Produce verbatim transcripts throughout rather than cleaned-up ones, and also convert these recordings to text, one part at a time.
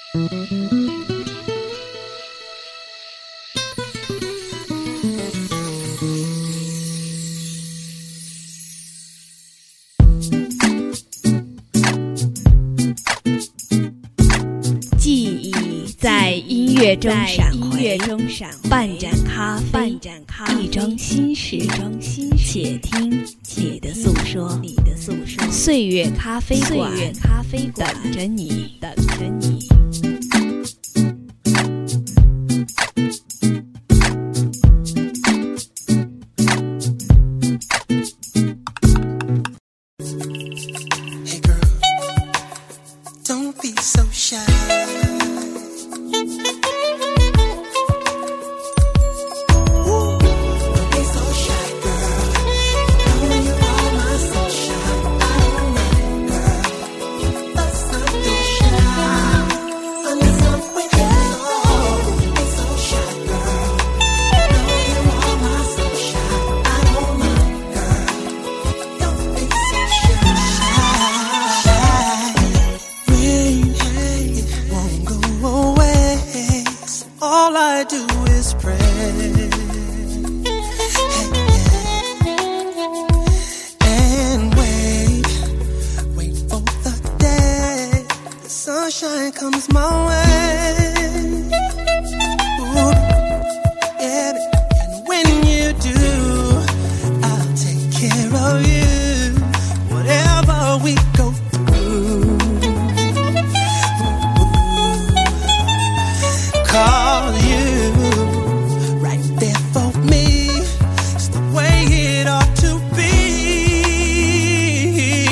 记忆在音乐中闪回，半盏咖啡，一桩心事，且听你的诉说。岁月咖啡馆，等着你，等着你。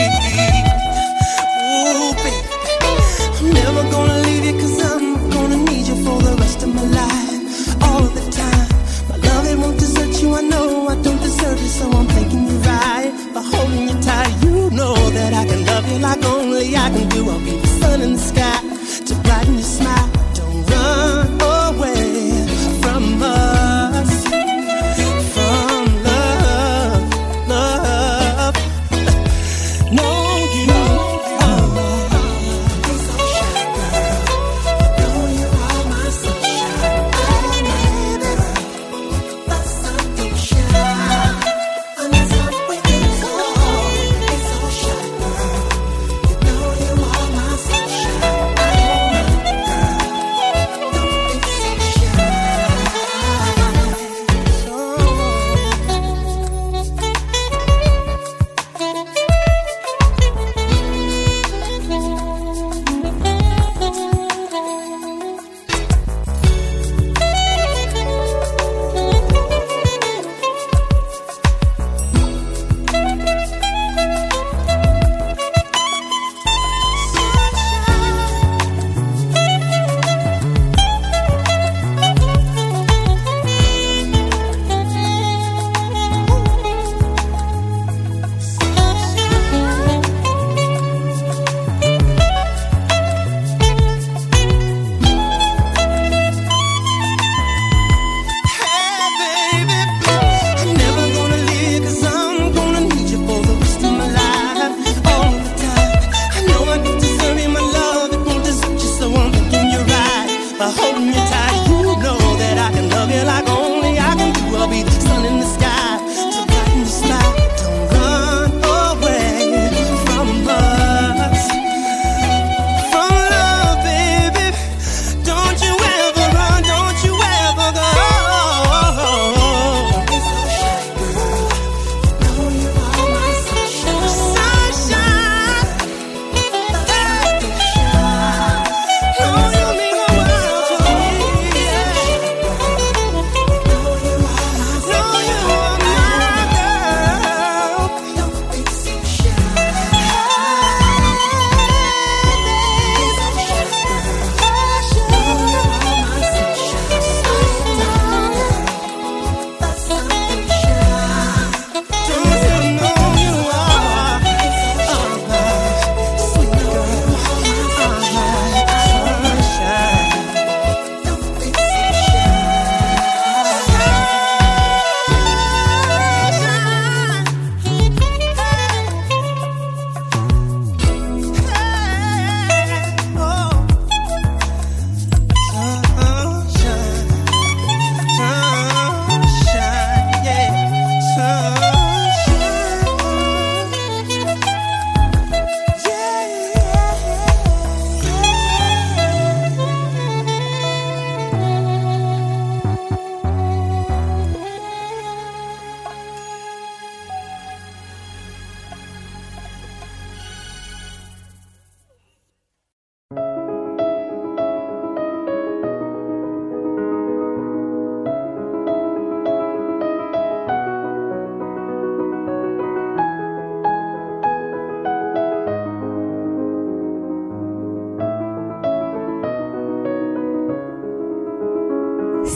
Never gonna leave you 'cause I'm gonna need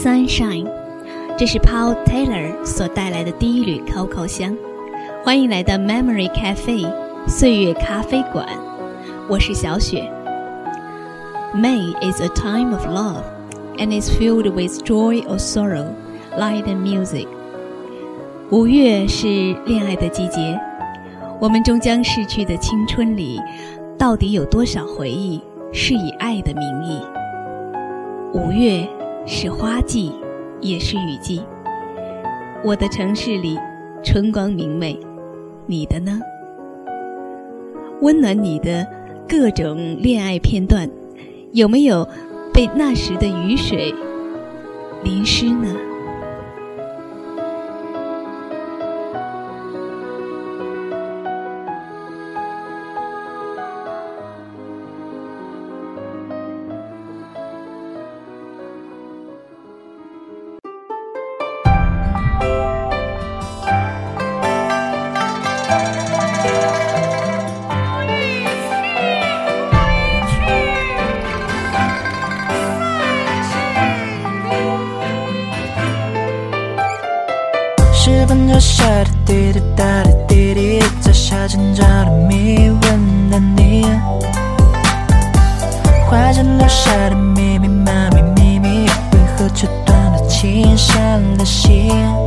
Sunshine， 这是 Paul Taylor 所带来的第一缕 Coco 香。欢迎来到 Memory Cafe 岁月咖啡馆，我是小雪。May is a time of love and is filled with joy or sorrow, light and music。 五月是恋爱的季节，我们终将逝去的青春里，到底有多少回忆是以爱的名义？五月是花季，也是雨季。我的城市里春光明媚，你的呢？温暖你的各种恋爱片段，有没有被那时的雨水淋湿呢？ 十分钟下的滴滴答的滴滴，在夏天找的谜，问了你，花间留下的密密麻密秘密，为何却断了情，伤了心？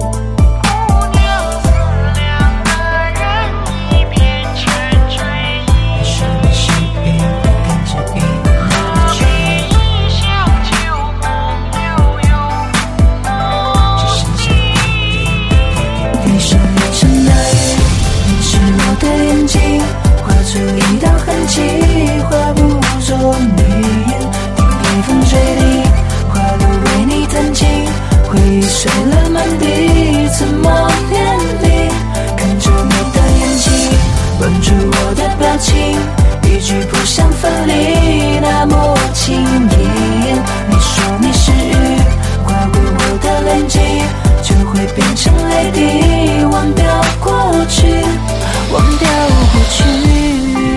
画不作谜言，听北风吹笛，花朵为你弹琴，回忆碎了满地，怎么连理？看着你的眼睛，吻住我的表情，一句不想分离，那么轻易。你说你是雨，划过我的眼睛，就会变成泪滴，忘掉过去，忘掉过去。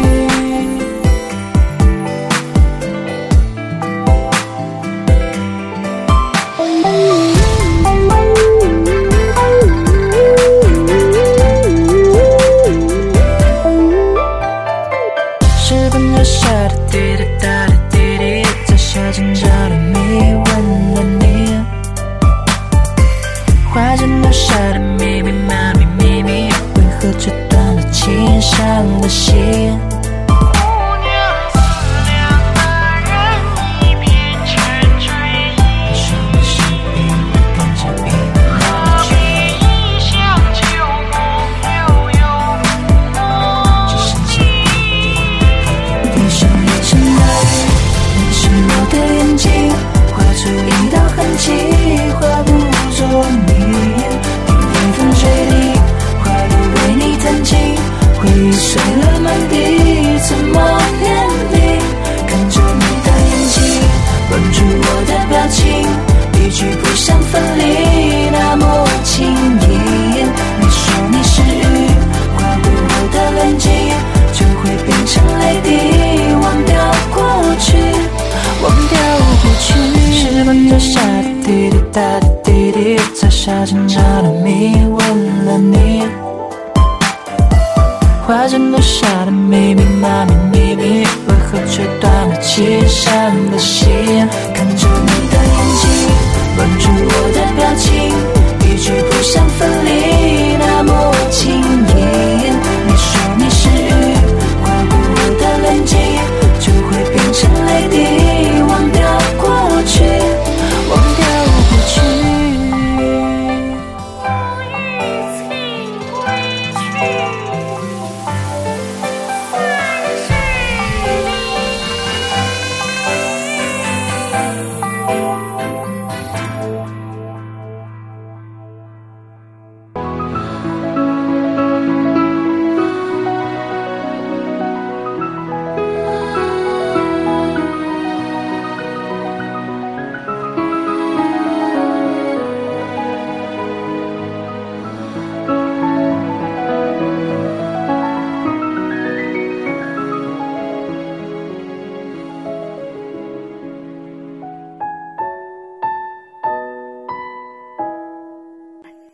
花间留下的密密麻密秘密，为何却断了情，伤了心？碎了满地，怎么连理？看着你的眼睛，吻住我的表情，一句不想分离，那么轻易。你说你是雨，划过我的眼睛，就会变成泪滴，忘掉过去，忘掉过去。十分钟下的滴滴答的滴滴，在夏天找的谜，问了你。花间留下的密密麻密秘密，为何却断了情，伤了心？看着你的眼睛，吻住我的表情，一句不想分离，那么轻易。你说你是雨，划过我的眼睛，就会变成泪滴，忘掉过去，忘掉过去。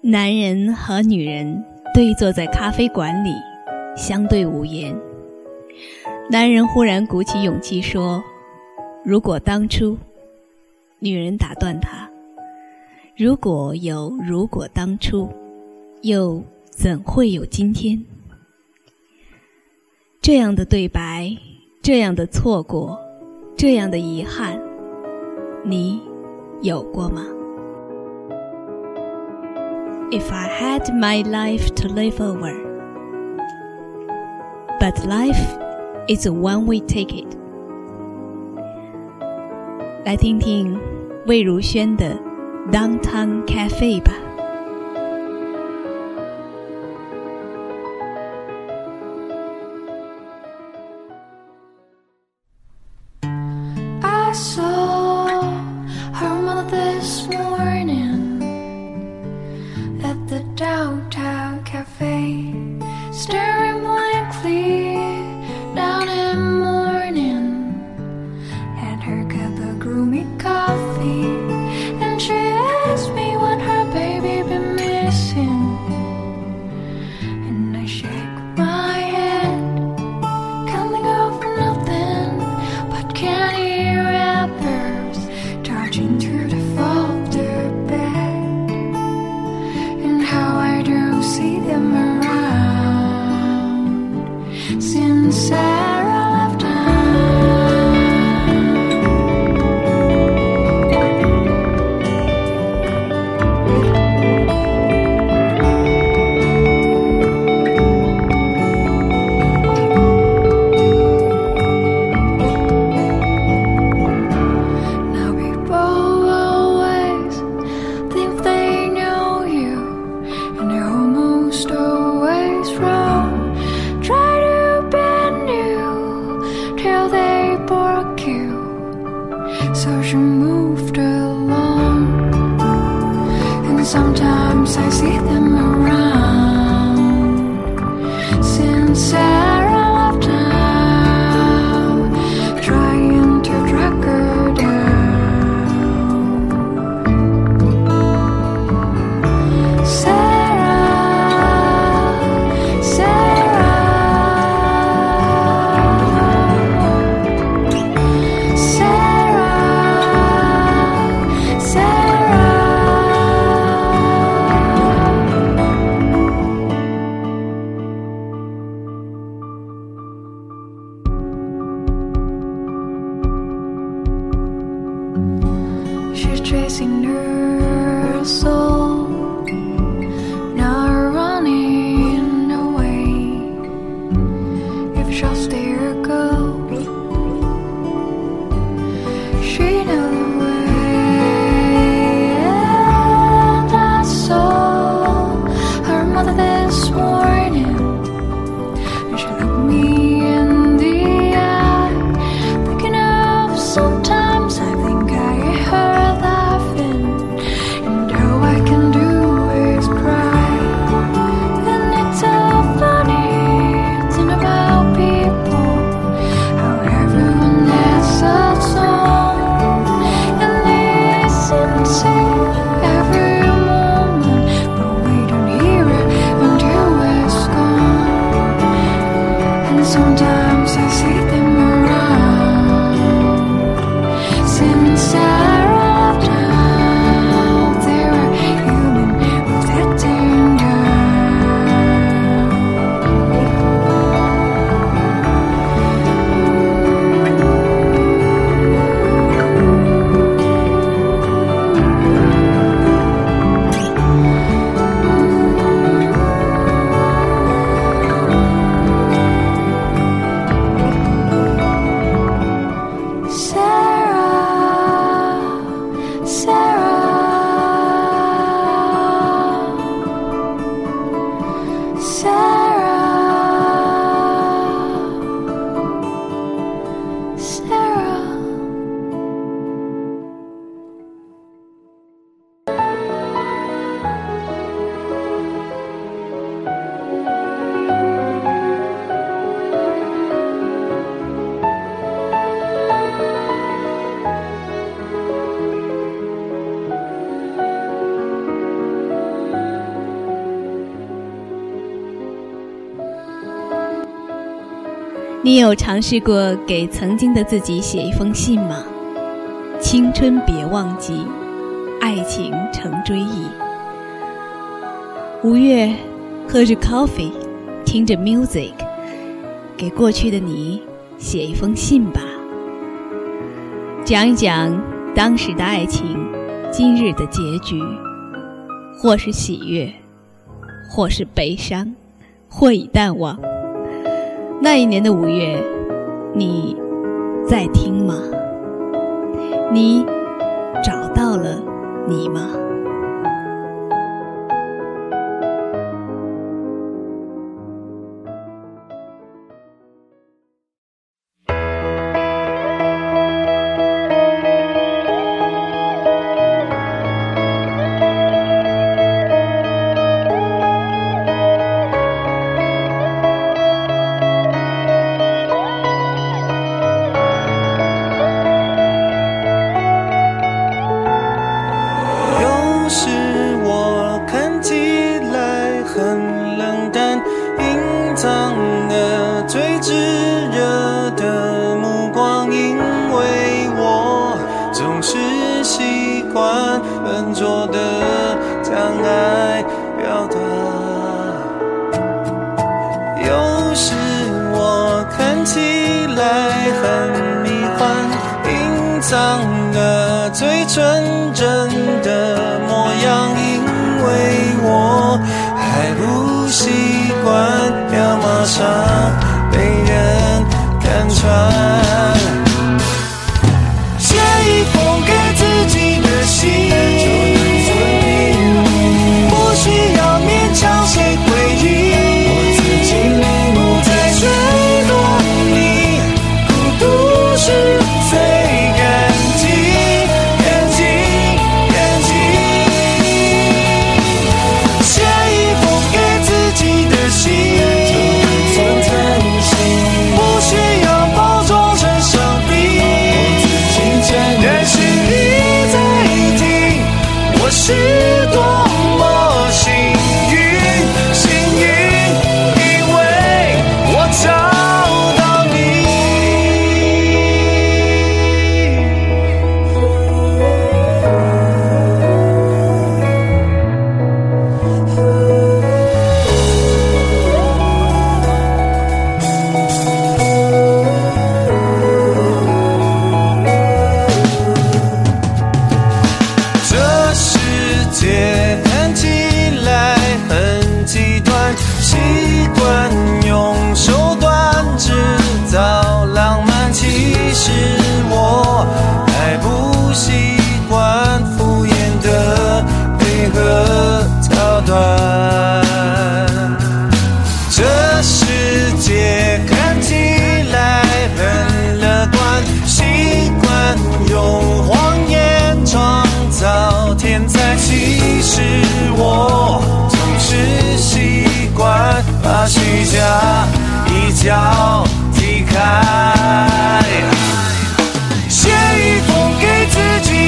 男人和女人对坐在咖啡馆里，相对无言。男人忽然鼓起勇气说，如果当初，女人打断他，如果有如果当初，又怎会有今天？这样的对白，这样的错过，这样的遗憾，你有过吗？ If I had my life to live over, but life is a one-way ticket. 来听听魏如萱的 Downtown Cafe 吧。 I saw her mother this morning at the downtown cafe, staring blankly down in mourning at her cup of gloomy coffee, and she asked me what her baby been missing, and I shake my head, coming over nothing but candy wrappers, charging through the folded bed, and how I do see them around since Sarah left town. Now people always think they know you, and they're almost always wrong. Try to bend you till they bark you, so she moved along. And sometimes I see them around since Sarah left town, trying to track her down. Sarah, Sarah, Sarah, Sarah. She's chasing her soul, not running away. If she'll stay or go, she knew the way. And I saw her mother this morning, and she looked me in the eye, thinking of sometimes I think I heard laughing, and all I can do is cry. And it's so funny thing about people, how everyone has a song, and listen to every moment, but we don't hear it until it's gone. And sometimes I see them around since Sarah left town. They were human with their turned Sarah, 你有尝试过给曾经的自己写一封信吗？青春别忘记，爱情成追忆。五月，喝着 coffee， 听着 music， 给过去的你写一封信吧，讲一讲当时的爱情，今日的结局，或是喜悦，或是悲伤，或已淡忘。那一年的五月，你在听吗？你找到了你吗？ 最纯真的模样，因为我还不习惯要马上被人看穿。写一封给自己的信，不需要勉强谁回应，我自己领悟在追落你，孤独是最干净。是多么幸运，幸运，因为我找到你。这世界看起来很极端，习惯用手段制造浪漫，其实我还不习惯敷衍的配合桥段。这世界看起来很乐观，习惯用谎言创造天才，其实我总是习惯把虚假一脚踢开。写一封给自己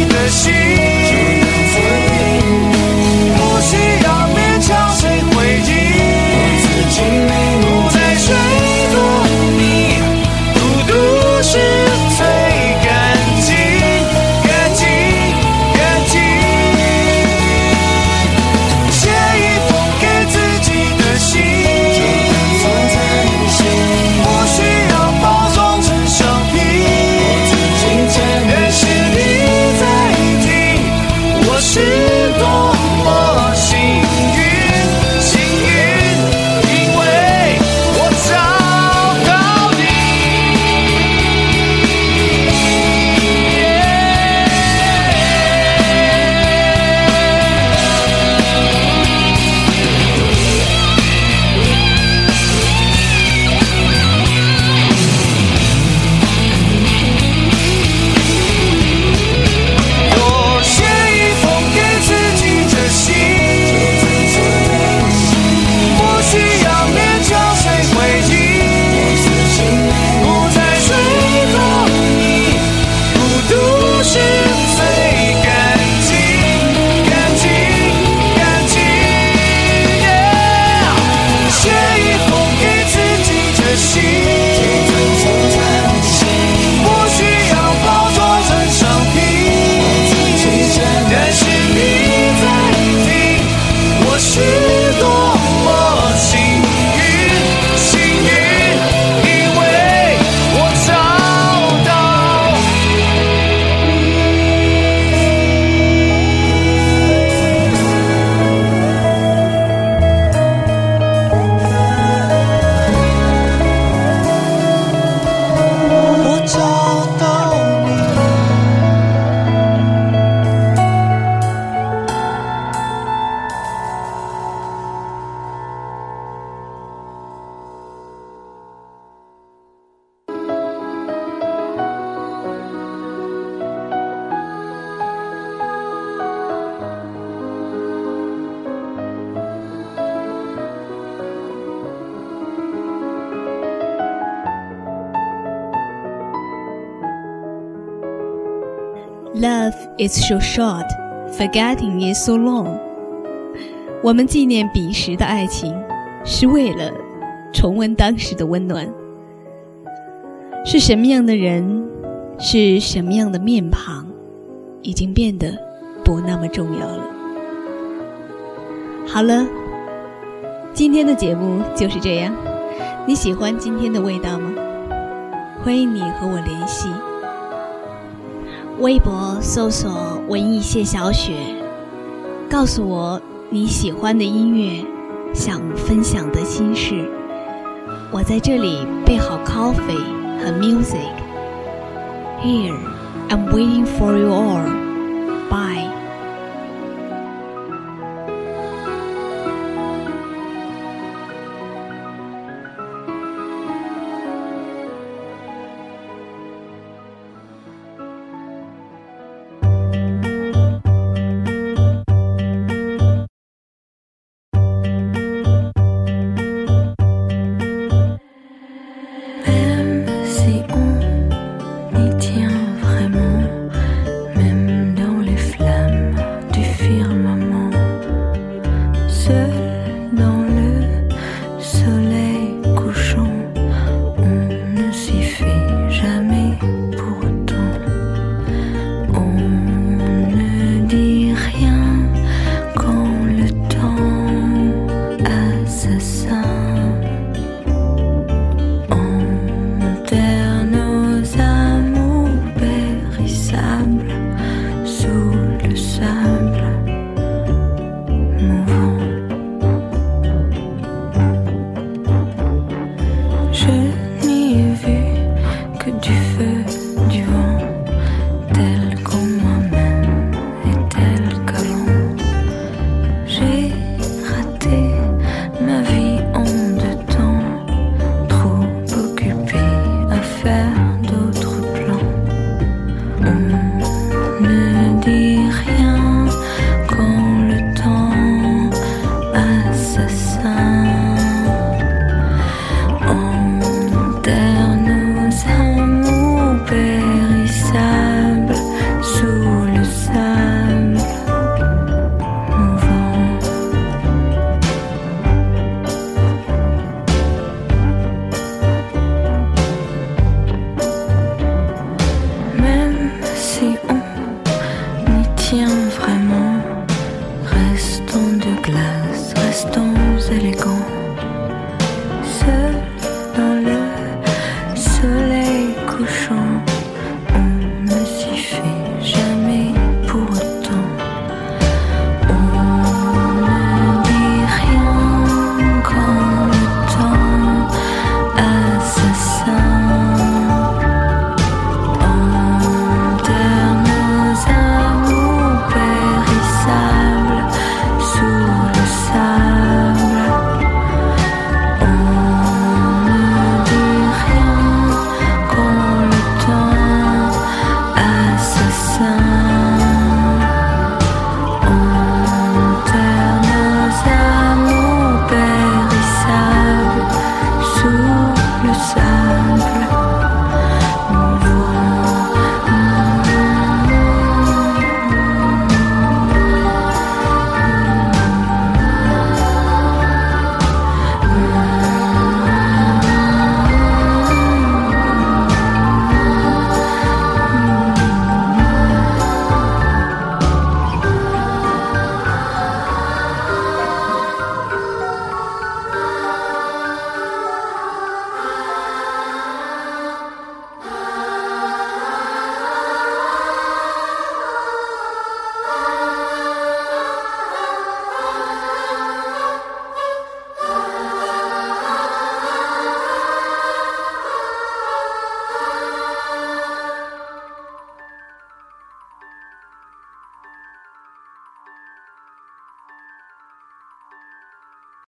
Love is so short, forgetting is so long. 我们纪念彼时的爱情，是为了重温当时的温暖。是什么样的人，是什么样的面庞，已经变得不那么重要了。好了，今天的节目就是这样。你喜欢今天的味道吗？欢迎你和我联系。微博搜索文艺谢小雪，告诉我你喜欢的音乐，想分享的心事。我在这里备好 coffee 和 music. Here, I'm waiting for you all. Bye. Rien